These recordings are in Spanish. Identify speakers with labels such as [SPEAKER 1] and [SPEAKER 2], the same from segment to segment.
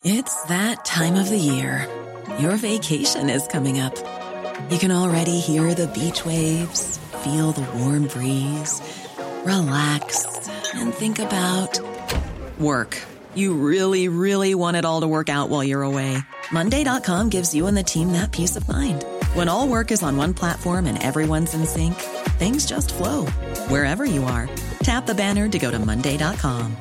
[SPEAKER 1] It's that time of the year. Your vacation is coming up. You can already hear the beach waves, feel the warm breeze, relax, and think about work. You really, really want it all to work out while you're away. Monday.com gives you and the team that peace of mind. When all work is on one platform and everyone's in sync, things just flow. Wherever you are, tap the banner to go to Monday.com.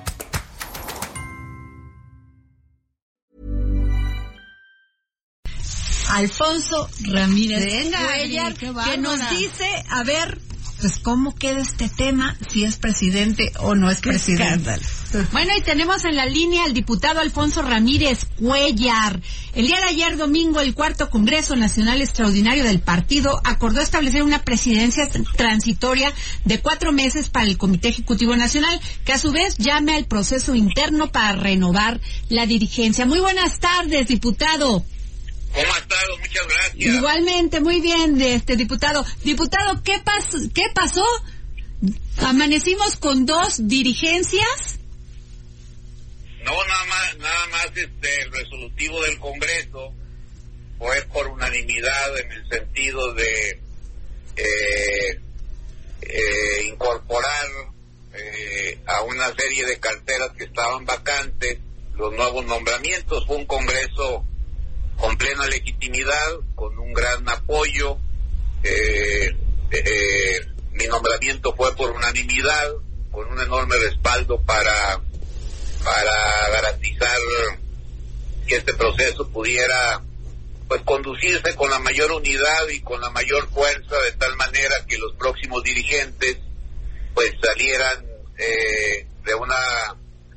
[SPEAKER 2] Alfonso Ramírez Cuellar, que nos dice, a ver, pues cómo queda este tema, si es presidente o no es presidente. Bueno, y tenemos en la línea al diputado Alfonso Ramírez Cuellar. El día de ayer, domingo, el cuarto Congreso Nacional Extraordinario del partido acordó establecer una presidencia transitoria de 4 meses para el Comité Ejecutivo Nacional, que a su vez llame al proceso interno para renovar la dirigencia. Muy buenas tardes, diputado.
[SPEAKER 3] ¿Cómo ha estado? Muchas gracias.
[SPEAKER 2] Igualmente, muy bien, diputado. Diputado, ¿qué pasó? ¿Amanecimos con 2 dirigencias?
[SPEAKER 3] No, nada más el resolutivo del Congreso fue por unanimidad en el sentido de incorporar a una serie de carteras que estaban vacantes los nuevos nombramientos. Fue un Congreso con plena legitimidad, con un gran apoyo. Mi nombramiento fue por unanimidad, con un enorme respaldo para garantizar que este proceso pudiera pues conducirse con la mayor unidad y con la mayor fuerza, de tal manera que los próximos dirigentes pues salieran de una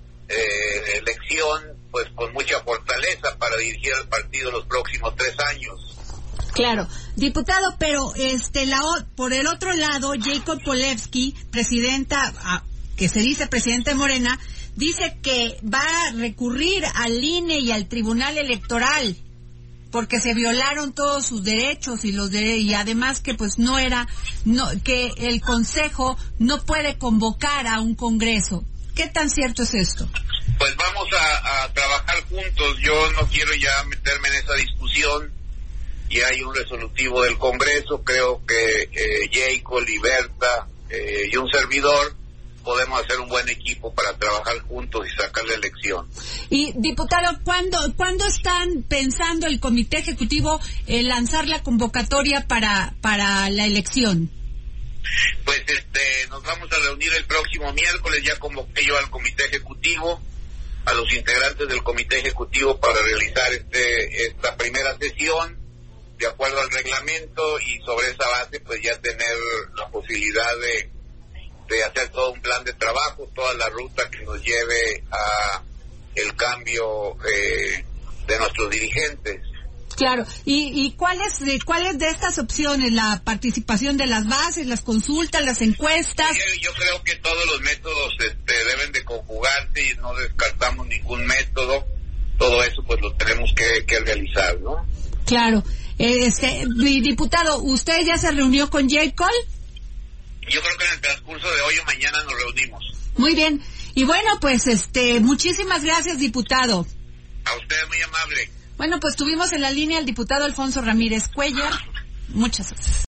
[SPEAKER 3] elección pues con mucha fortaleza para dirigir al partido los próximos 3 años.
[SPEAKER 2] Claro, diputado, pero por el otro lado, Jacob Polevsky, presidenta, que se dice presidente de Morena, dice que va a recurrir al INE y al Tribunal Electoral porque se violaron todos sus derechos y además que pues que el Consejo no puede convocar a un Congreso. ¿Qué tan cierto es esto?
[SPEAKER 3] Pues vamos a trabajar juntos. Yo no quiero ya meterme en esa discusión. Ya hay un resolutivo del Congreso. Creo que Jacob, Liberta y un servidor podemos hacer un buen equipo para trabajar juntos y sacar la elección.
[SPEAKER 2] Y, diputado, ¿cuándo están pensando el Comité Ejecutivo en lanzar la convocatoria para la elección?
[SPEAKER 3] Pues nos vamos a reunir el próximo miércoles. Ya convoqué yo al Comité Ejecutivo, a los integrantes del Comité Ejecutivo, para realizar esta primera sesión de acuerdo al reglamento, y sobre esa base pues ya tener la posibilidad de hacer todo un plan de trabajo, toda la ruta que nos lleve a el cambio de nuestros dirigentes.
[SPEAKER 2] Claro, ¿y cuáles de estas opciones? ¿La participación de las bases, las consultas, las encuestas?
[SPEAKER 3] Yo creo que todos los métodos deben de conjugarse y no descartamos ningún método. Todo eso pues lo tenemos que realizar, ¿no?
[SPEAKER 2] Claro. Diputado, ¿usted ya se reunió con Jacob?
[SPEAKER 3] Yo creo que en el transcurso de hoy o mañana nos reunimos.
[SPEAKER 2] Muy bien. Y bueno, pues muchísimas gracias, diputado.
[SPEAKER 3] A usted, muy amable.
[SPEAKER 2] Bueno, pues tuvimos en la línea al diputado Alfonso Ramírez Cuellar. Muchas gracias.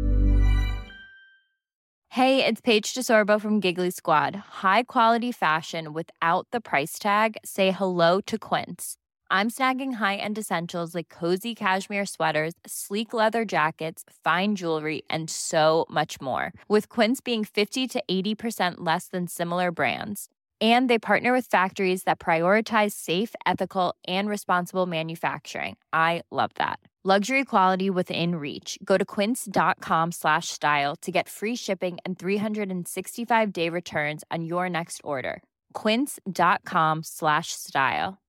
[SPEAKER 4] Hey, it's Paige DeSorbo from Giggly Squad. High quality fashion without the price tag. Say hello to Quince. I'm snagging high-end essentials like cozy cashmere sweaters, sleek leather jackets, fine jewelry, and so much more. With Quince being 50 to 80% less than similar brands. And they partner with factories that prioritize safe, ethical, and responsible manufacturing. I love that. Luxury quality within reach. Go to quince.com/style to get free shipping and 365-day returns on your next order. Quince.com/style.